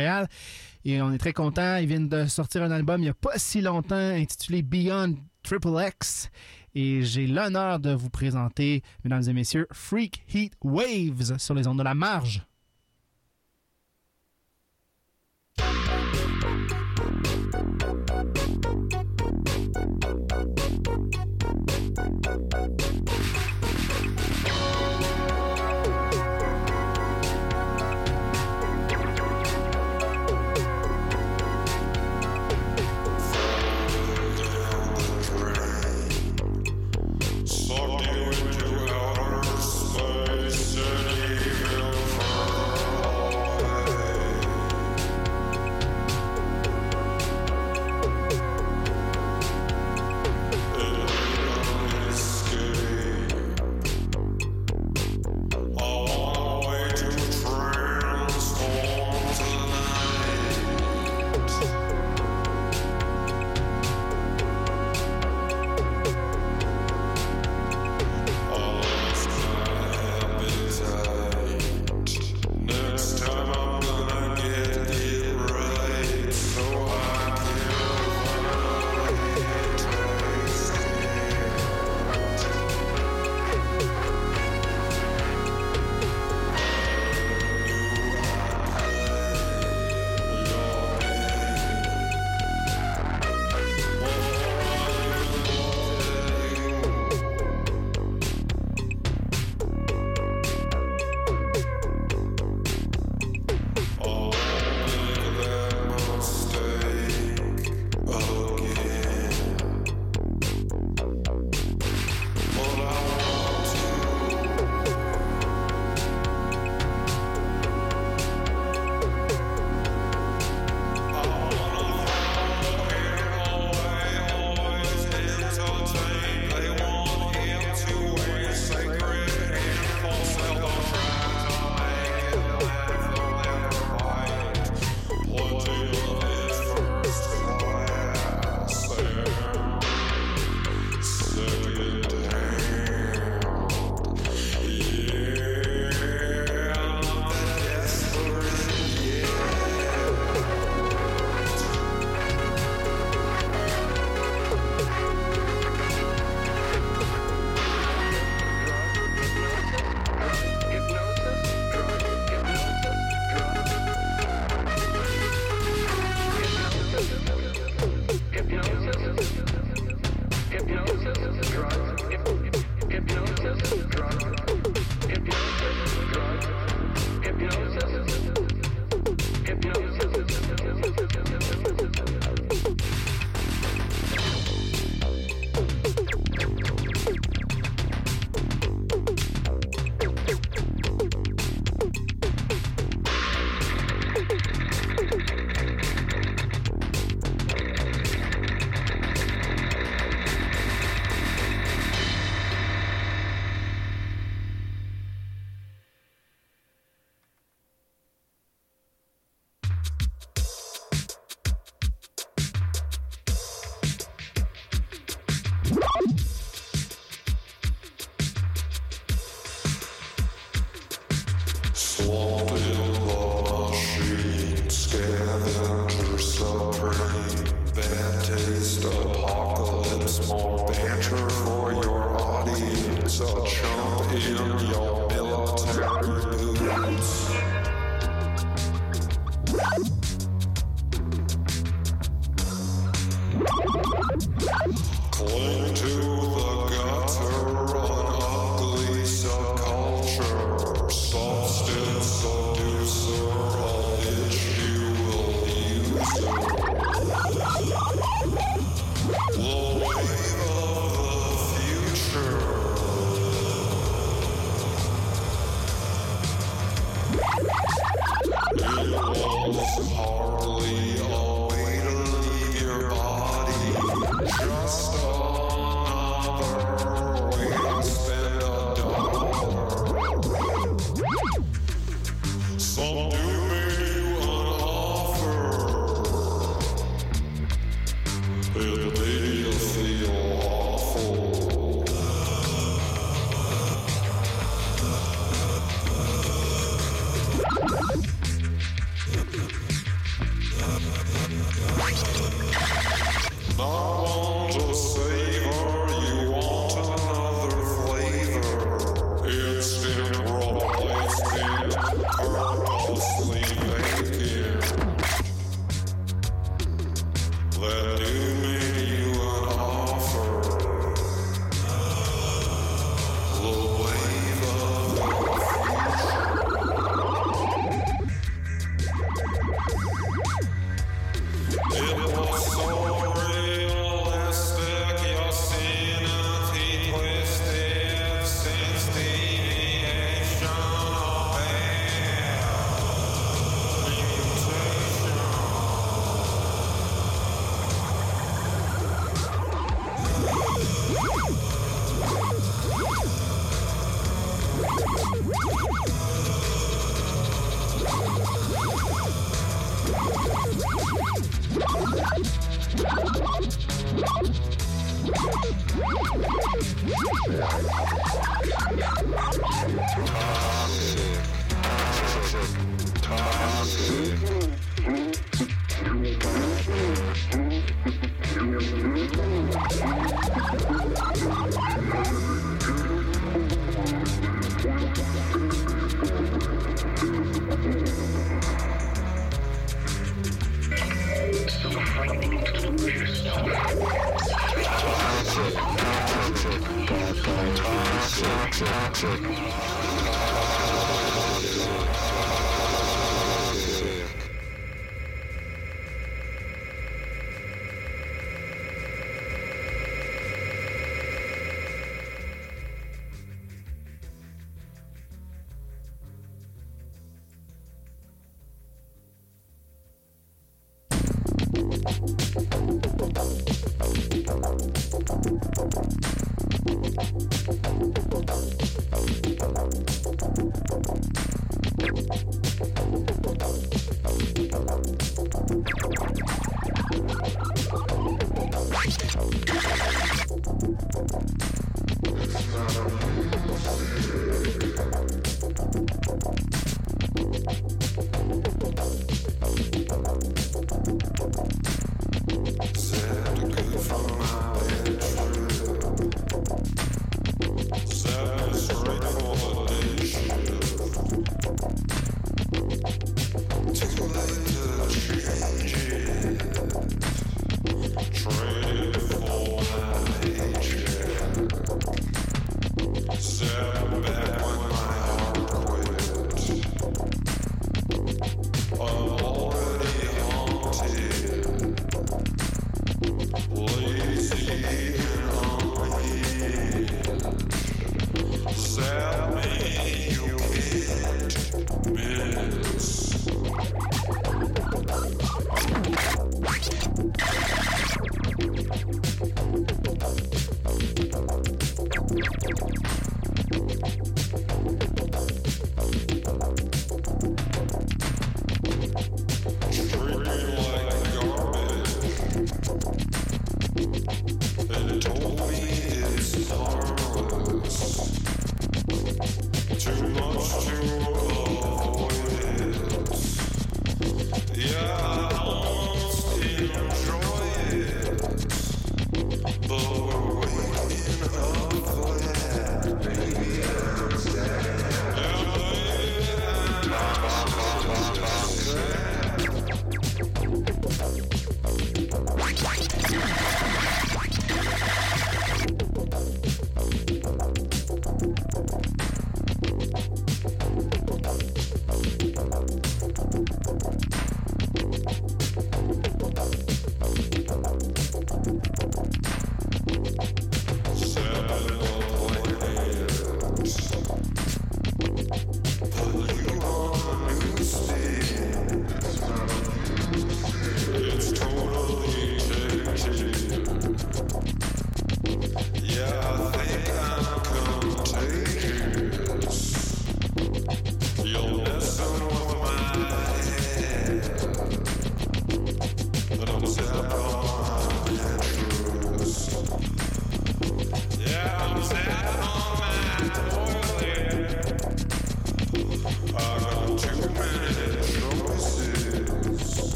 Montréal. Et on est très contents. Ils viennent de sortir un album il n'y a pas si longtemps intitulé Beyond Triple X. Et j'ai l'honneur de vous présenter, mesdames et messieurs, Freak Heat Waves sur les ondes de la marge.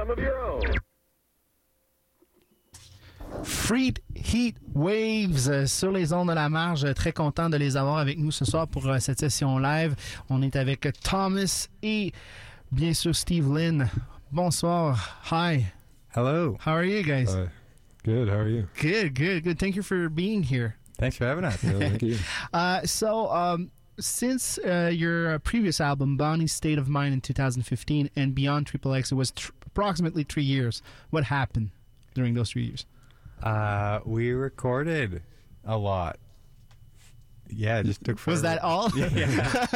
some of your own. Freak Heat Waves sur les ondes de la marge. Très content de les avoir avec nous ce soir pour cette session live. On est avec Thomas et bien sûr Steve Lynn. Bonsoir. Hi. Hello. How are you guys? Good. How are you? Good. Thank you for being here. Thanks for having us. Yeah, thank you. Since your previous album, Bonnie's State of Mind in 2015 and Beyond Triple X, it was approximately 3 years. What happened during those 3 years? We recorded a lot. Yeah, it just took forever. Was that all? Yeah.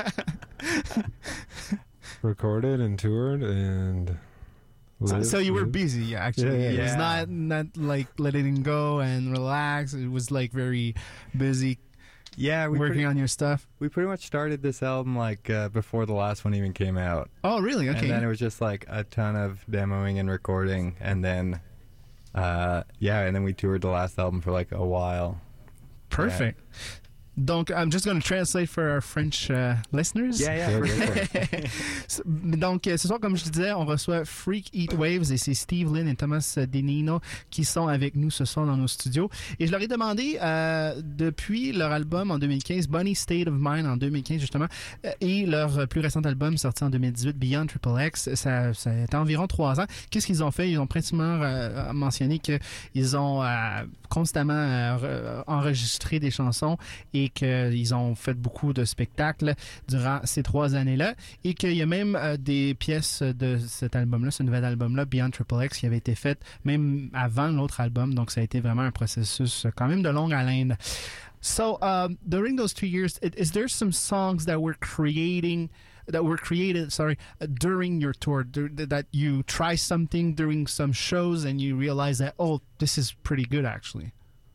Recorded and toured and So you were busy, actually. Yeah. It was not like letting go and relax. It was like very busy Yeah, working on your stuff. we pretty much started this album like before the last one even came out. Oh, really? Okay. And then it was just like a ton of demoing and recording, and then and then we toured the last album for like a while. Perfect. Donc, I'm just going to translate for our French listeners. Yeah, Yeah, for go sure. for it. Donc, ce soir, comme je te disais, on reçoit Freak Heat Waves et c'est Steve Lynn et Thomas Denino qui sont avec nous ce soir dans nos studios. Et je leur ai demandé, depuis leur album en 2015, Bonnie State of Mind en 2015 justement, et leur plus récent album sorti en 2018, Beyond Triple X, ça a été environ 3 ans. Qu'est-ce qu'ils ont fait? Ils ont principalement mentionné qu'ils ont constamment enregistré des chansons et qu'ils ont fait beaucoup de spectacles durant ces 3 années-là et qu'il y a même des pièces de cet album-là, ce nouvel album-là, Beyond Triple X, qui avait été fait même avant l'autre album, donc ça a été vraiment un processus quand même de longue haleine. So, during those 2 years, is there some songs that were created, during your tour, that you try something during some shows and you realize that, oh, this is pretty good, actually?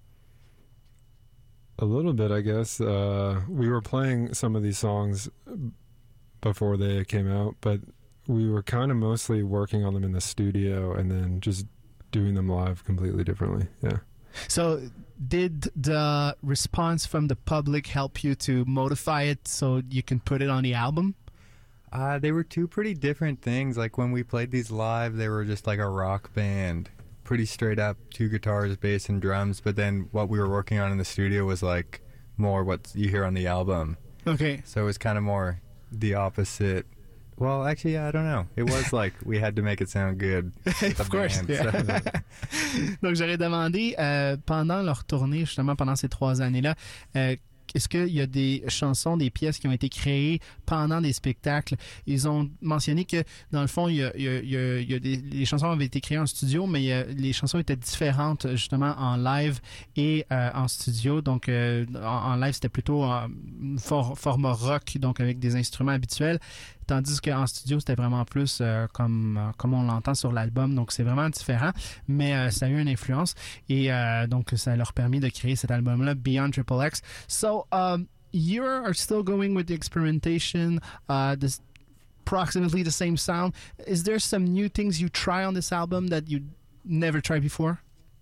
A little bit, I guess. We were playing some of these songs before they came out, but we were kind of mostly working on them in the studio and then just doing them live completely differently. Yeah. So did the response from the public help you to modify it so you can put it on the album? They were two pretty different things. Like when we played these live, they were just like a rock band. Pretty straight up, 2 guitars, bass, and drums. But then what we were working on in the studio was like more what you hear on the album. Okay. So it was kind of more the opposite. Well, actually, I don't know. It was like we had to make it sound good. Of course. Band, Yeah. so. Donc, j'aurais demandé, pendant leur tournée, justement, pendant ces 3 années-là, est-ce qu'il y a des chansons, des pièces qui ont été créées pendant des spectacles? Ils ont mentionné que, dans le fond, les chansons avaient été créées en studio, mais les chansons étaient différentes, justement, en live et en studio. Donc, en live, c'était plutôt format rock, donc avec des instruments habituels. Tandis qu'en studio, c'était vraiment plus comme on l'entend sur l'album. Donc, c'est vraiment différent, mais ça a eu une influence. Et donc, ça leur a permis de créer cet album-là, Beyond Triple X. So, you are still going with the experimentation, this approximately the same sound. Is there some new things you try on this album that you never tried before?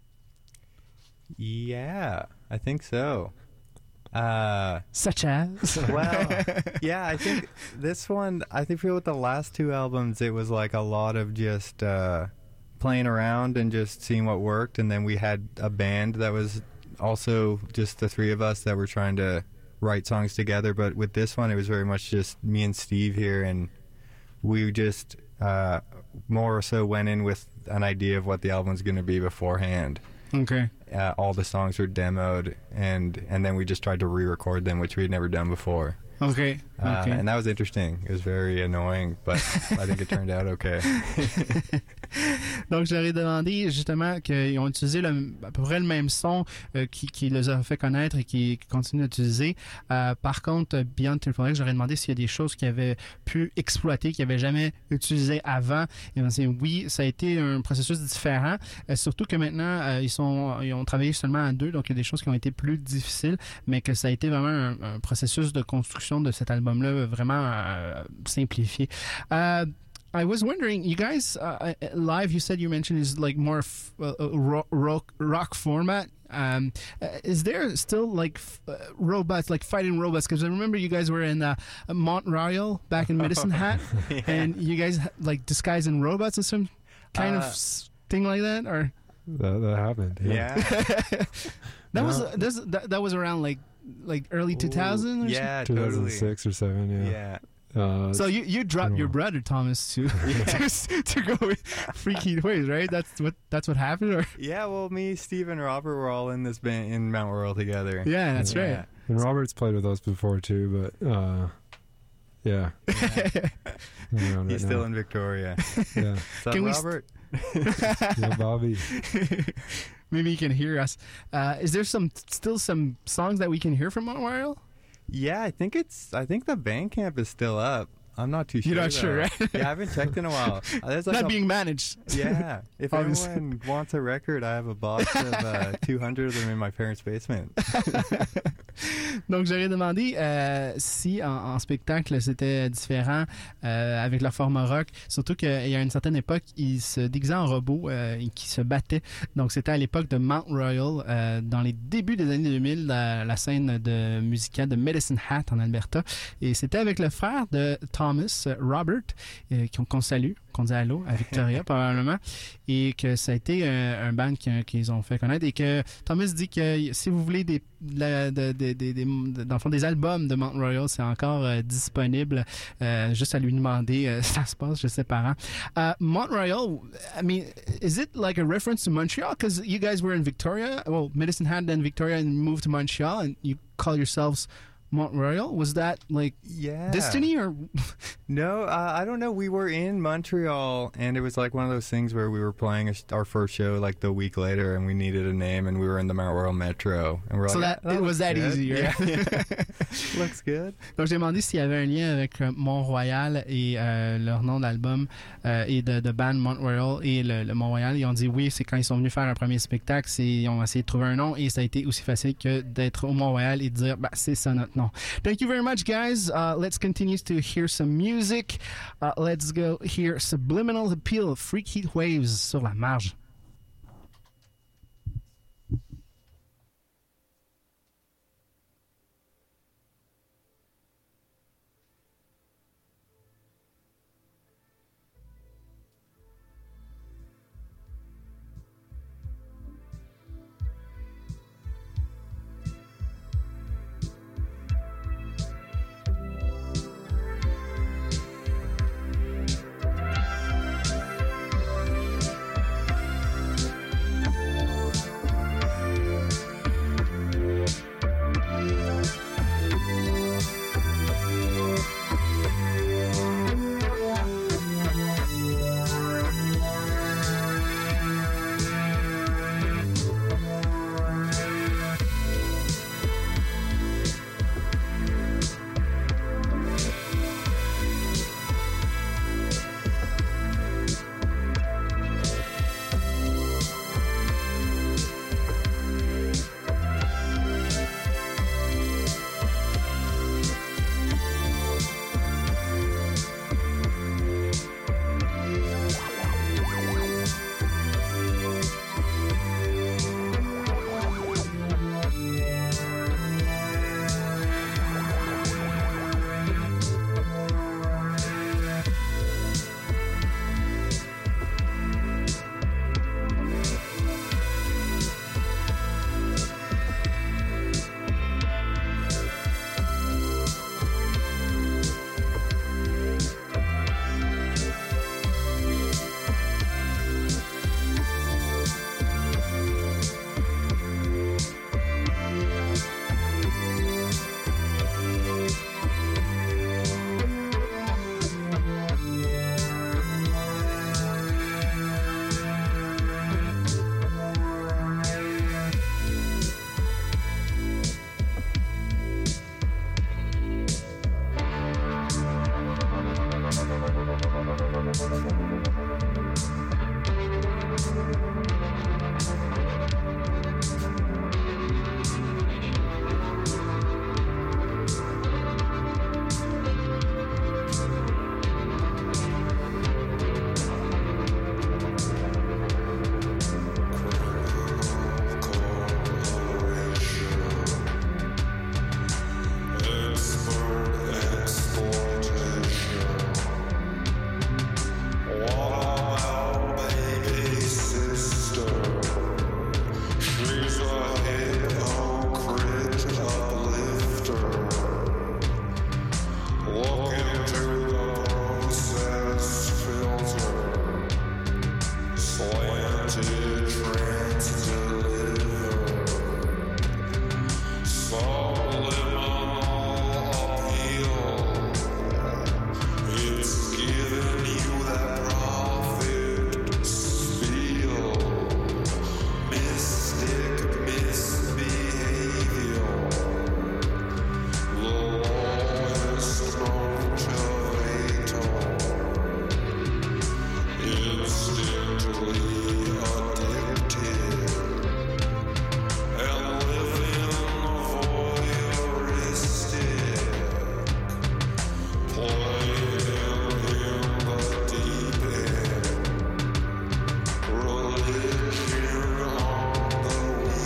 Yeah, I think so. Such as? Well, yeah, I think this one, I think with the last 2 albums, it was like a lot of just playing around and just seeing what worked. And then we had a band that was also just the 3 of us that were trying to write songs together. But with this one, it was very much just me and Steve here. And we just more so went in with an idea of what the album's going to be beforehand. Okay. All the songs were demoed, and then we just tried to re-record them, which we had never done before. Okay. And that was interesting. It was very annoying, but I think it turned out okay. Donc, je leur ai demandé justement qu'ils ont utilisé à peu près le même son qui les a fait connaître et qui continuent d'utiliser. Par contre, Beyond Triple X, j'aurais demandé s'il y a des choses qu'ils avaient pu exploiter, qu'ils n'avaient jamais utilisées avant. Et oui, ça a été un processus différent. Surtout que maintenant, ils ont travaillé seulement à 2, donc il y a des choses qui ont été plus difficiles, mais que ça a été vraiment un processus de construction de cet album-là vraiment simplifié. I was wondering, you guys live, you said you mentioned is like more rock format. Is there still like robots, like fighting robots? Because I remember you guys were in Mont Royal back in Medicine Hat, Yeah. and you guys like disguised in robots or something. kind of thing like that, or That happened. Yeah. that was around like early 2000 or Yeah, totally. 2006 or 7. Yeah. so you dropped your brother Thomas to go with Freak Heat Waves, right? That's what happened, or Yeah, well, me, Steve, and Robert were all in this band in Mount Royal together. yeah, that's Yeah. right. And Robert's played with us before too, but yeah. He's still in Victoria. Yeah. What's up, Can we Robert? Yeah, Bobby. Maybe you can hear us. Is there still some songs that we can hear from Mount Royal? Yeah, I think the Bandcamp is still up. I'm not too sure. You're not sure, though. right? Yeah, I haven't checked in a while. There's like Not being managed. Yeah. If Obviously. anyone wants a record, I have a box of 200 of them in my parents' basement. Donc, j'aurais demandé si en spectacle c'était différent avec leur format rock. Surtout qu'il y a une certaine époque, ils se déguisaient en robots et qui se battaient. Donc, c'était à l'époque de Mount Royal, dans les débuts des années 2000, la scène musicale de Medicine Hat en Alberta. Et c'était avec le frère de Thomas, Robert, qu'on salue, qu'on dit allô à Victoria probablement, et que ça a été un band qu'ils ont fait connaître, et que Thomas dit que si vous voulez dans le fond, des albums de Mount Royal, c'est encore disponible, juste à lui demander ça se passe, je sais par Mount Royal, I mean, is it like a reference to Montreal? Because you guys were in Victoria, well, Medicine Hat and Victoria, and moved to Montreal, and you call yourselves Mount Royal. Was that like destiny, or No, I don't know. We were in Montreal, and it was like one of those things where we were playing our first show like the week later, and we needed a name, and we were in the Mount Royal Metro, and we're so like, that it was that good. easy, right? Yeah. Looks good. Donc j'ai demandé s'il y avait un lien avec Mont-Royal et leur nom d'album et de band Mount Royal et le Mont-Royal. Ils ont dit oui, c'est quand ils sont venus faire un premier spectacle, ils ont essayé de trouver un nom, et ça a été aussi facile que d'être au Mont-Royal et de dire c'est ça notre nom. Thank you very much, guys. Let's continue to hear some music. Let's go hear Subliminal Appeal, Freak Heat Waves sur la marge. Religion on the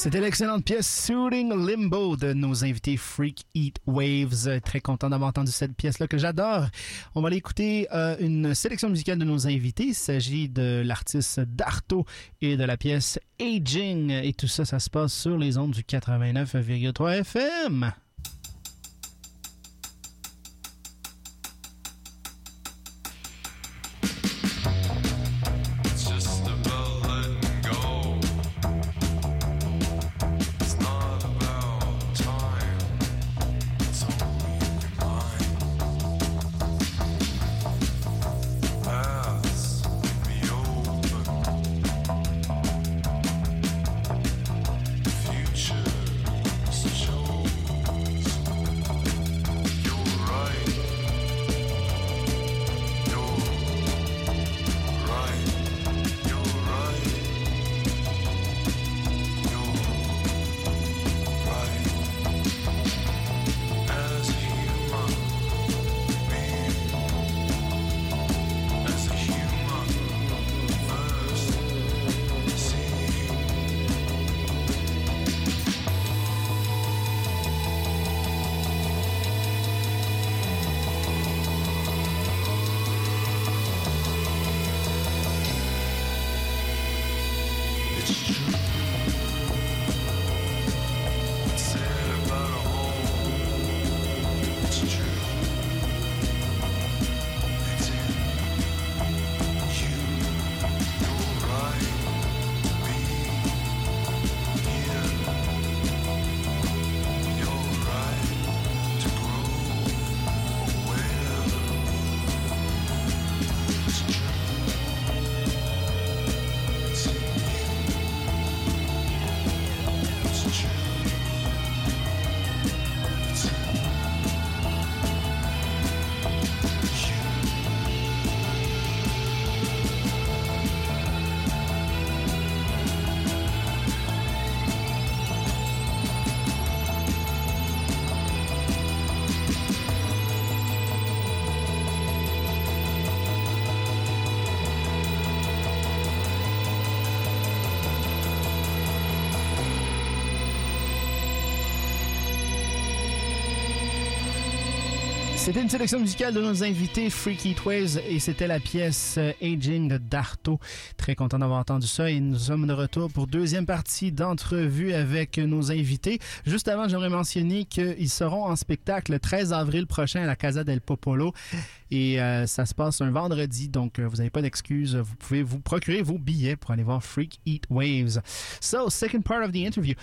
C'était l'excellente pièce Soothing Limbo de nos invités Freak Heat Waves. Très content d'avoir entendu cette pièce-là que j'adore. On va aller écouter une sélection musicale de nos invités. Il s'agit de l'artiste Darto et de la pièce Aging. Et tout ça, ça se passe sur les ondes du 89,3 FM. C'était une sélection musicale de nos invités Freak Heat Waves et c'était la pièce Aging de Darto. Très content d'avoir entendu ça et nous sommes de retour pour deuxième partie d'entrevue avec nos invités. Juste avant, j'aimerais mentionner qu'ils seront en spectacle le 13 avril prochain à la Casa del Popolo et ça se passe un vendredi, donc vous n'avez pas d'excuses. Vous pouvez vous procurer vos billets pour aller voir Freak Heat Waves. So, second part of the interview.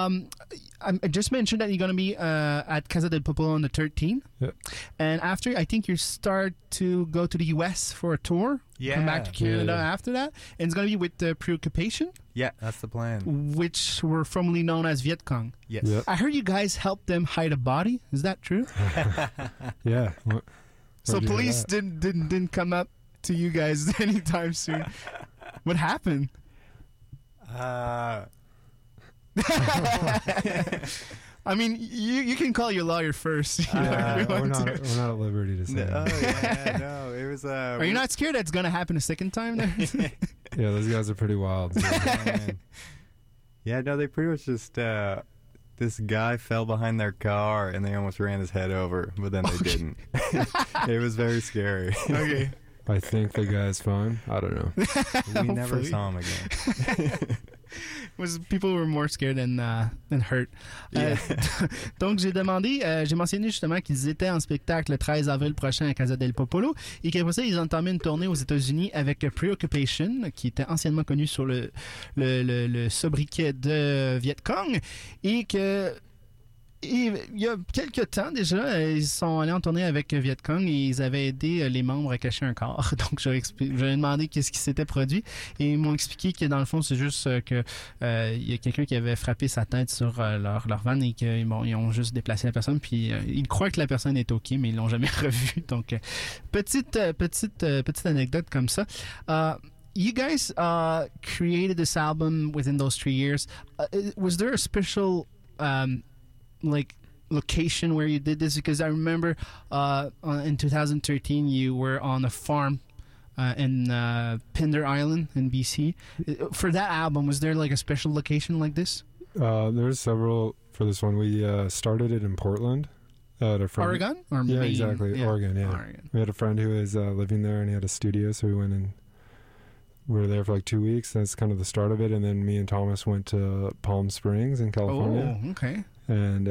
I just mentioned that you're going to be at Casa del Popolo on the 13th. Yeah. And after, I think you start to go to the U.S. for a tour. Yeah. Come back to Canada Yeah. after that. And it's going to be with Preoccupation, Yeah, that's the plan. which were formerly known as Viet Cong. Yes. Yep. I heard you guys helped them hide a body. Is that true? Yeah. So Where'd you hear police that? didn't come up to you guys anytime soon. What happened? I mean, you can call your lawyer first. if you We're want to. not at liberty to say. No, it was. Are you not scared that's going to happen a second time? There? Yeah, those guys are pretty wild. Yeah, no, they pretty much just. This guy fell behind their car and they almost ran his head over, but then they didn't. It was very scary. Okay. I think the guy's fine. I don't know. We never Hopefully. saw him again. Was people were more scared than hurt. Yeah. Donc j'ai mentionné justement qu'ils étaient en spectacle le 13 avril prochain à Casa del Popolo et qu'après ça ils ont entamé une tournée aux États-Unis avec Preoccupation qui était anciennement connu sur le sobriquet de Viet Cong et que il y a quelques temps déjà, ils sont allés en tournée avec Viet Cong et ils avaient aidé les membres à cacher un corps. Donc, j'avais demandé qu'est-ce qui s'était produit et ils m'ont expliqué que dans le fond, c'est juste que il y a quelqu'un qui avait frappé sa tête sur leur van et qu'ils ils ont juste déplacé la personne. Puis, ils croient que la personne est OK, mais ils l'ont jamais revue. Donc, petite anecdote comme ça. You guys created this album within those 3 years. Was there a special like location where you did this? Because I remember in 2013 you were on a farm in Pender Island in BC. For that album, was there like a special location like this? There's several for this one. We started it in Portland at a friend. Oregon? Or Yeah, Maine? exactly. Oregon, yeah. Oregon. We had a friend who was living there, and he had a studio, so we went and we were there for like 2 weeks. That's kind of the start of it. And then me and Thomas went to Palm Springs in California. Oh, okay. And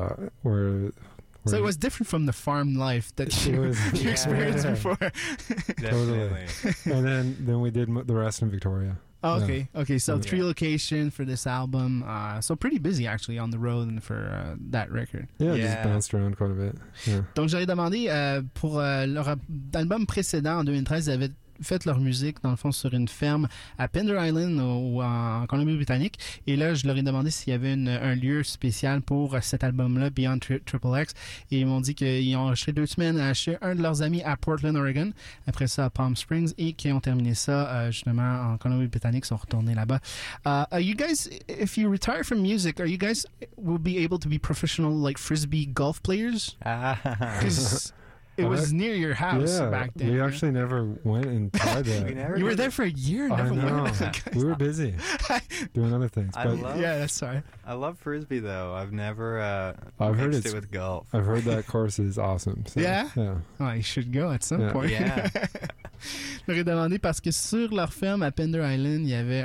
So it was different from the farm life that you experienced before. Definitely. And then we did the rest in Victoria. Oh, okay. Okay, so Yeah. 3 locations for this album. So pretty busy actually on the road and for that record. Yeah, Yeah. just bounced around quite a bit. Yeah. Donc j'aurais demandé pour leur album précédent en 2013, ils avaient fait leur musique dans le fond sur une ferme à Pender Island ou en Colombie-Britannique, et là je leur ai demandé s'il y avait un lieu spécial pour cet album-là, Beyond Triple X, et ils m'ont dit qu'ils ont enregistré 2 semaines chez un de leurs amis à Portland, Oregon, après ça à Palm Springs, et qu'ils ont terminé ça justement en Colombie-Britannique, sont retournés là-bas. You guys, if you retire from music, are you guys will be able to be professional like frisbee golf players? Because it was near your house Yeah, back then. we yeah? actually never went and tried that. We never You were did there it. for a year and I never know. went. We were busy doing other things. I But love- Yeah, that's sorry. I love frisbee though. I've never I've heard mixed it's- it with golf. I've heard that course is awesome. So, Yeah? Yeah. Oh, you should go at some Yeah. point. Yeah. Je leur ai demandé parce que sur leur ferme à Pender Island, il y avait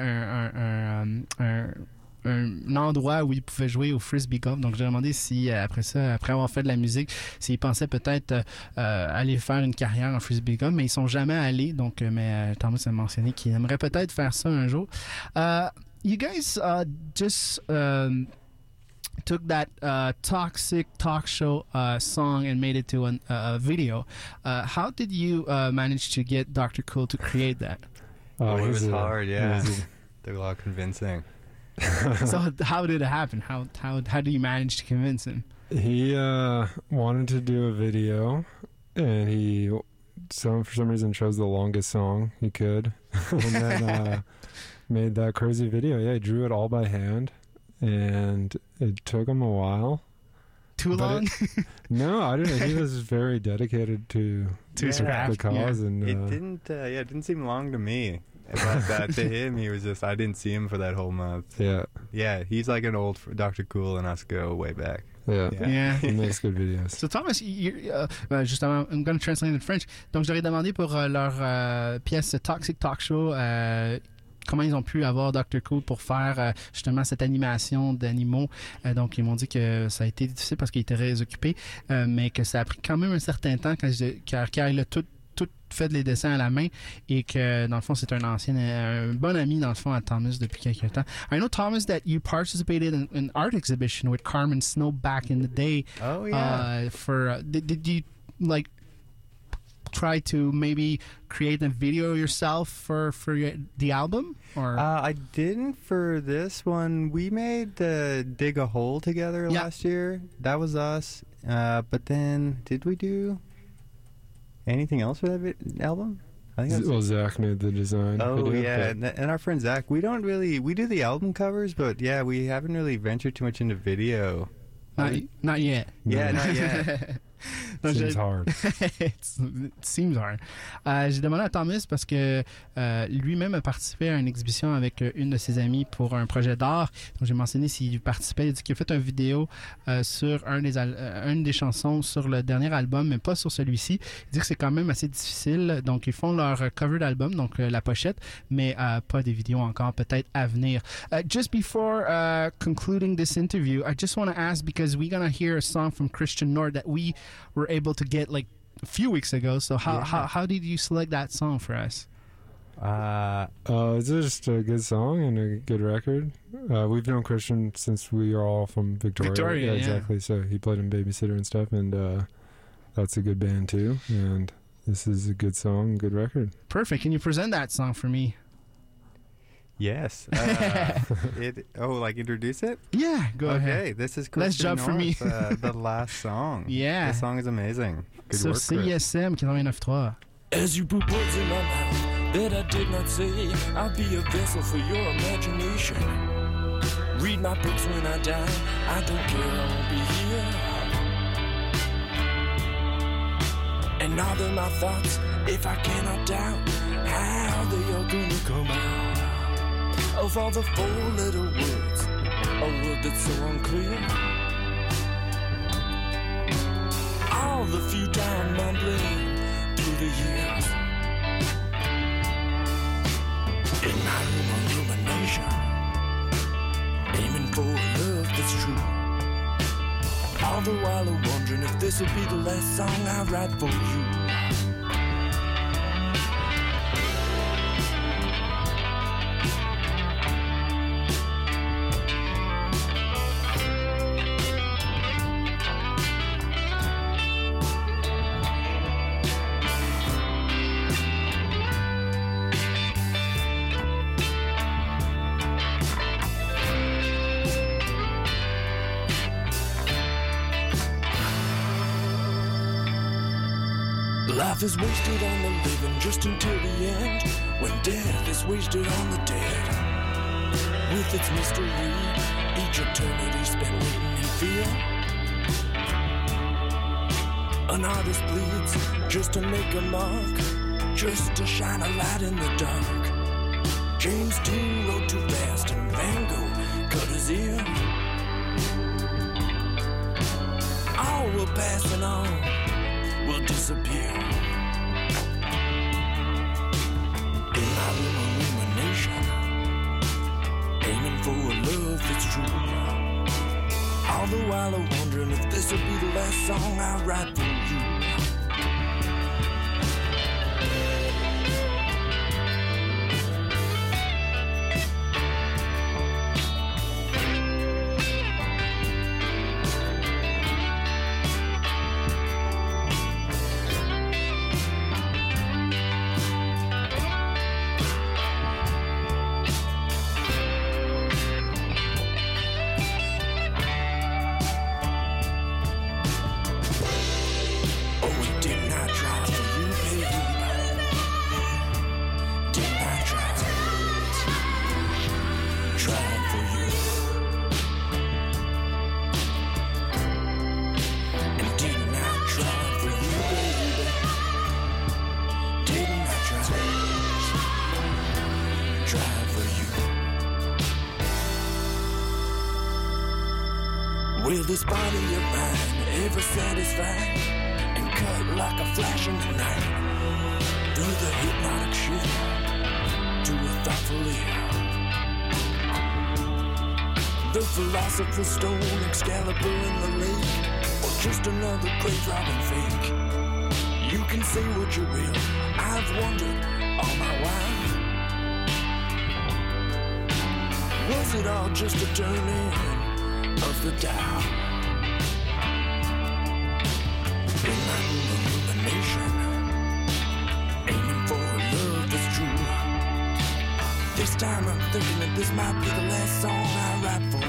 un endroit où ils pouvaient jouer au frisbee golf. Donc j'ai demandé si après avoir fait de la musique, s'ils pensaient peut-être aller faire une carrière en frisbee golf, mais ils sont jamais allés. Donc mais Thomas a mentionné qu'il aimerait peut-être faire ça un jour. You guys just took that toxic talk show song and made it to a video. How did you manage to get Dr. Cool to create that? Oh, it he's was a- hard. Yeah, he's took a lot of convincing. So how did it happen? How do you manage to convince him? He wanted to do a video, and he for some reason chose the longest song he could, and then made that crazy video. Yeah, he drew it all by hand, and it took him a while. Too But long? No, I don't know. He was very dedicated to To his Yeah. craft. the cause, and It didn't. It didn't seem long to me. But to him, he was just. I didn't see him for that whole month. yeah, Yeah, he's like an old Dr. Cool, and us go way back. yeah, Yeah. Yeah. He makes good videos. So Thomas, justement, I'm going to translate in French. Donc j'aurais demandé pour leur pièce Toxic Talk Show comment ils ont pu avoir Dr. Cool pour faire justement cette animation d'animaux. Donc ils m'ont dit que ça a été difficile parce qu'il était très occupé, mais que ça a pris quand même un certain temps car il a tout fait les dessins à la main, et que dans le fond c'est un bon ami dans le fond à Thomas depuis quelques temps. I know, Thomas, that you participated in an art exhibition with Carmen Snow back in the day. Oh yeah. Did you like try to maybe create a video yourself for the album, or I didn't for this one. We made Dig a Hole together Yeah. last year. That was us. But then, did we do anything else for that album? I think that's Well, Zach made the design. Oh video, yeah, but- and our friend Zach. We do the album covers, but yeah, we haven't really ventured too much into video. not yet? Yeah, not yet. Donc, Seems hard. It seems hard. J'ai demandé à Thomas parce que lui-même a participé à une exhibition avec une de ses amies pour un projet d'art. Donc j'ai mentionné s'il participait. Il a dit qu'il a fait une vidéo sur une des chansons sur le dernier album, mais pas sur celui-ci. Il dit que c'est quand même assez difficile. Donc ils font leur cover d'album, donc la pochette, mais pas des vidéos encore, peut-être à venir. Just before concluding this interview, I just want to ask, because we're going to hear a song from Christian Nord that we were able to get like a few weeks ago. So how did you select that song for us? It's just a good song and a good record. We've known Christian since we are all from Victoria. Yeah. Exactly. So he played in Babysitter and stuff, and that's a good band too. And this is a good song, good record. Perfect. Can you present that song for me? Yes. Like introduce it? Yeah, go Okay, ahead. this is Let's Christian jump for me. North, the last song. Yeah. The song is amazing. Good Sur work, Chris. CISM 89.3. As you put words in my mouth that I did not say, I'll be a vessel for your imagination. Read my books when I die, I don't care, I won't be here. And now they're my thoughts, if I cannot doubt how they are gonna come out of all the 4-letter words a world that's so unclear. All the futile mumbling through the years. In my room of rumination, aiming for a love that's true. All the while I'm wondering if this will be the last song I write for you. Life is wasted on the living just until the end, when death is wasted on the dead. With its mystery, each eternity spent waiting in fear. An artist bleeds just to make a mark, just to shine a light in the dark. James Dean wrote too fast and Van Gogh cut his ear. All will pass and all will disappear. In my rumination, aiming for a love that's true. All the while I'm wondering if this will be the last song I write for you. Will this body of mine ever satisfy and cut like a flash in the night through the hypnotic shift to a thoughtful ear? The philosopher's stone, Excalibur in the lake, or just another grave robbing fake? You can say what you will, I've wondered all my while. Was it all just a turning of the dial? In my rumination, aiming for a love that's true. This time I'm thinking that this might be the last song I write for you.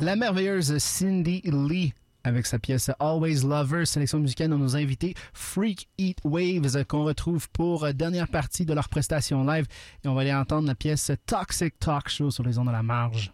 La merveilleuse Cindy Lee avec sa pièce Always Lover, sélection musicale de nos invités Freak Heat Waves qu'on retrouve pour dernière partie de leur prestation live. Et on va aller entendre la pièce Toxic Talk Show sur les ondes de la marge.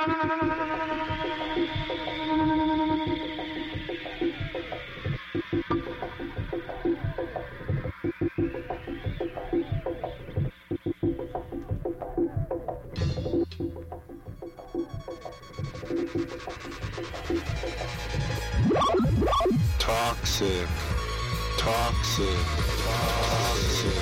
Toxic, toxic, toxic,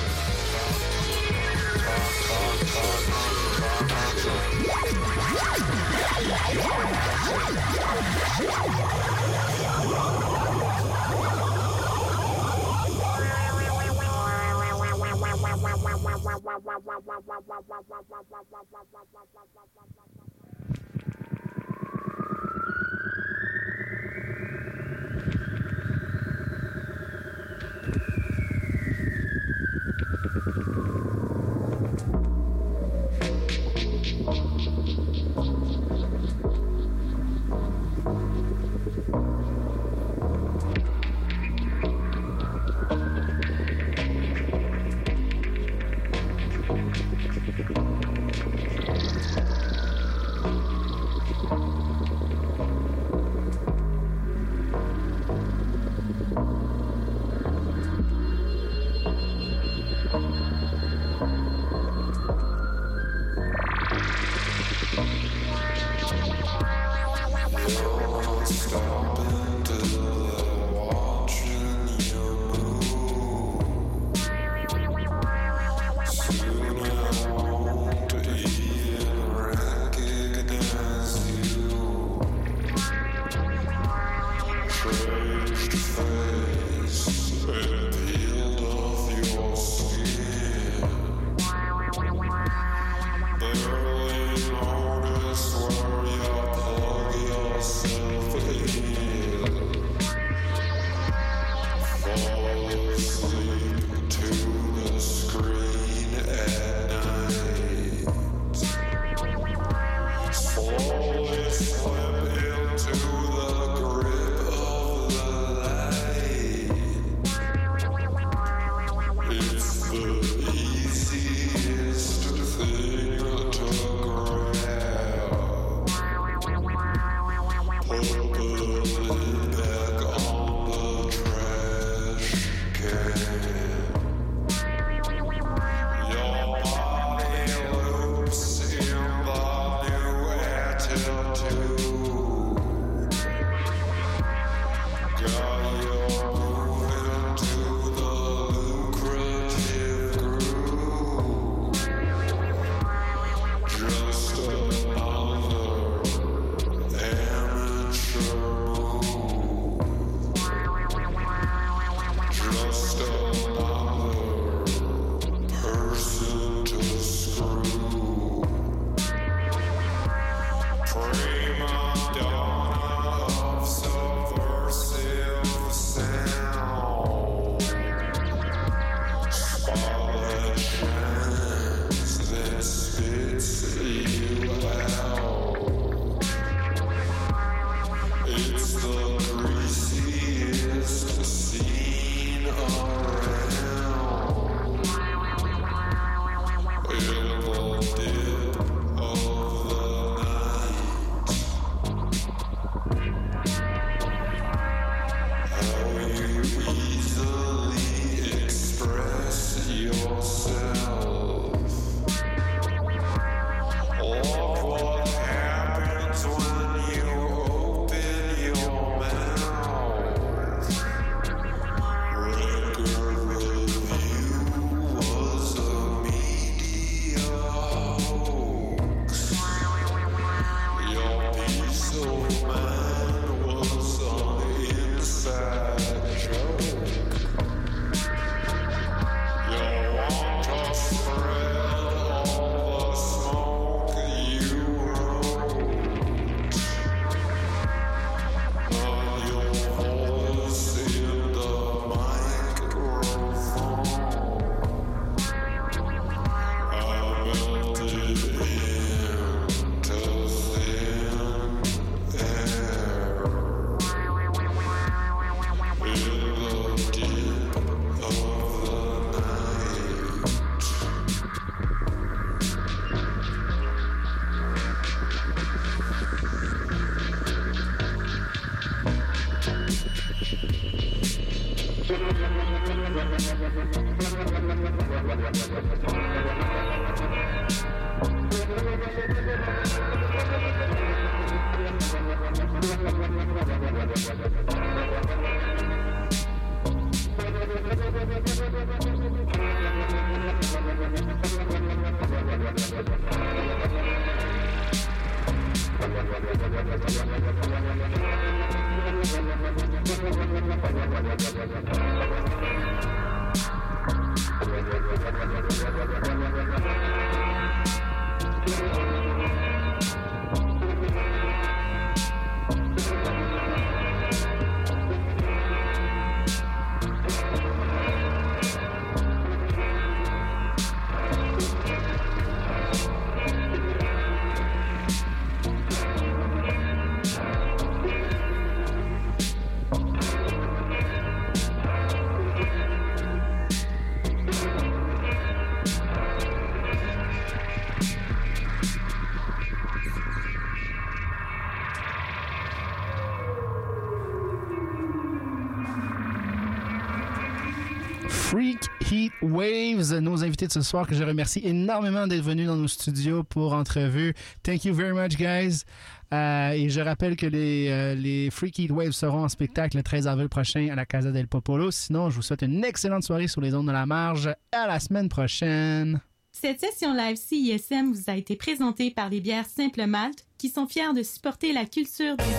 Freak Heat Waves, nos invités de ce soir que je remercie énormément d'être venus dans nos studios pour entrevue. Thank you very much, guys. Et je rappelle que les Freak Heat Waves seront en spectacle le 13 avril prochain à la Casa del Popolo. Sinon, je vous souhaite une excellente soirée sur les ondes de la marge. À la semaine prochaine. Cette session live CISM vous a été présentée par les bières Simple Malte qui sont fiers de supporter la culture du...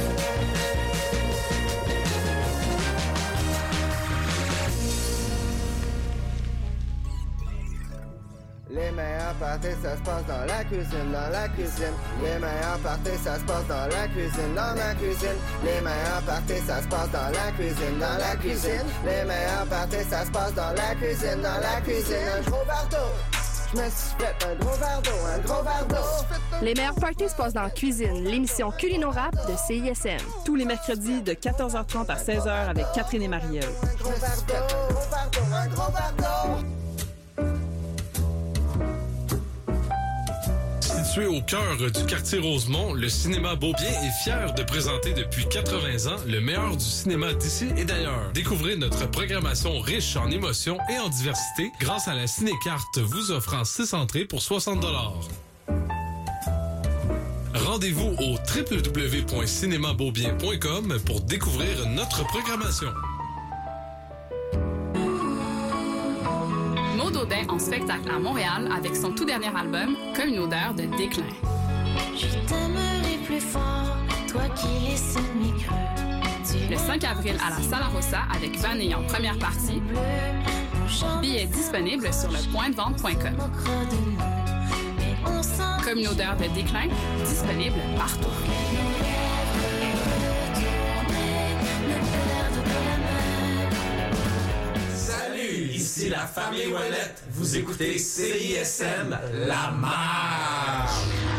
Les meilleurs parties, ça se passe dans la cuisine, dans la cuisine. Les meilleurs parties, ça se passe dans la cuisine, dans la cuisine. Les meilleurs parties, ça se passe dans la cuisine, dans la cuisine. Les meilleurs parties, ça se passe dans la cuisine, dans la cuisine. Un gros verre d'eau, je me suis fait un gros verre d'eau, un gros verre d'eau. Les meilleurs parties se passent dans la cuisine, l'émission Culino-Rap de CISM. Tous les mercredis de 14h30 à 16h avec Catherine et Marielle. Un gros verre d'eau, un gros verre d'eau, un gros verre d'eau. Situé au cœur du quartier Rosemont, le cinéma Beaubien est fier de présenter depuis 80 ans le meilleur du cinéma d'ici et d'ailleurs. Découvrez notre programmation riche en émotions et en diversité grâce à la ciné-carte vous offrant 6 entrées pour 60 $. Rendez-vous au www.cinémabeaubien.com pour découvrir notre programmation. Maud Audin en spectacle à Montréal avec son tout dernier album, Comme une odeur de déclin. Je t'aimerai plus fort, toi qui laisses mes creux. Le 5 avril à la Sala Rossa avec Vanille en première partie. Billets disponibles sur lepointdevente.com. Comme une odeur de déclin, disponible partout. Ici la famille Ouellette, vous écoutez CISM, la marche.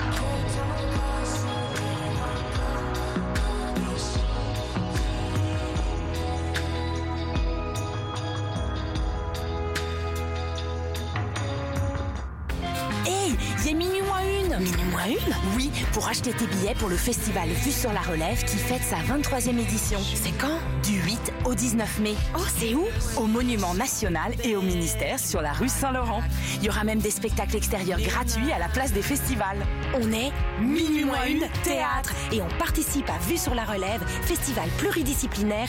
Hey, il est minuit moins une. Minuit moins une? Oui, pour acheter tes billets pour le festival Vue sur la Relève qui fête sa 23e édition. C'est quand? Du 8 au 19 mai. Oh, c'est où? Au Monument National et au ministère sur la rue Saint-Laurent. Il y aura même des spectacles extérieurs gratuits à la place des festivals. On est Minuit moins une théâtre et on participe à Vue sur la Relève, festival pluridisciplinaire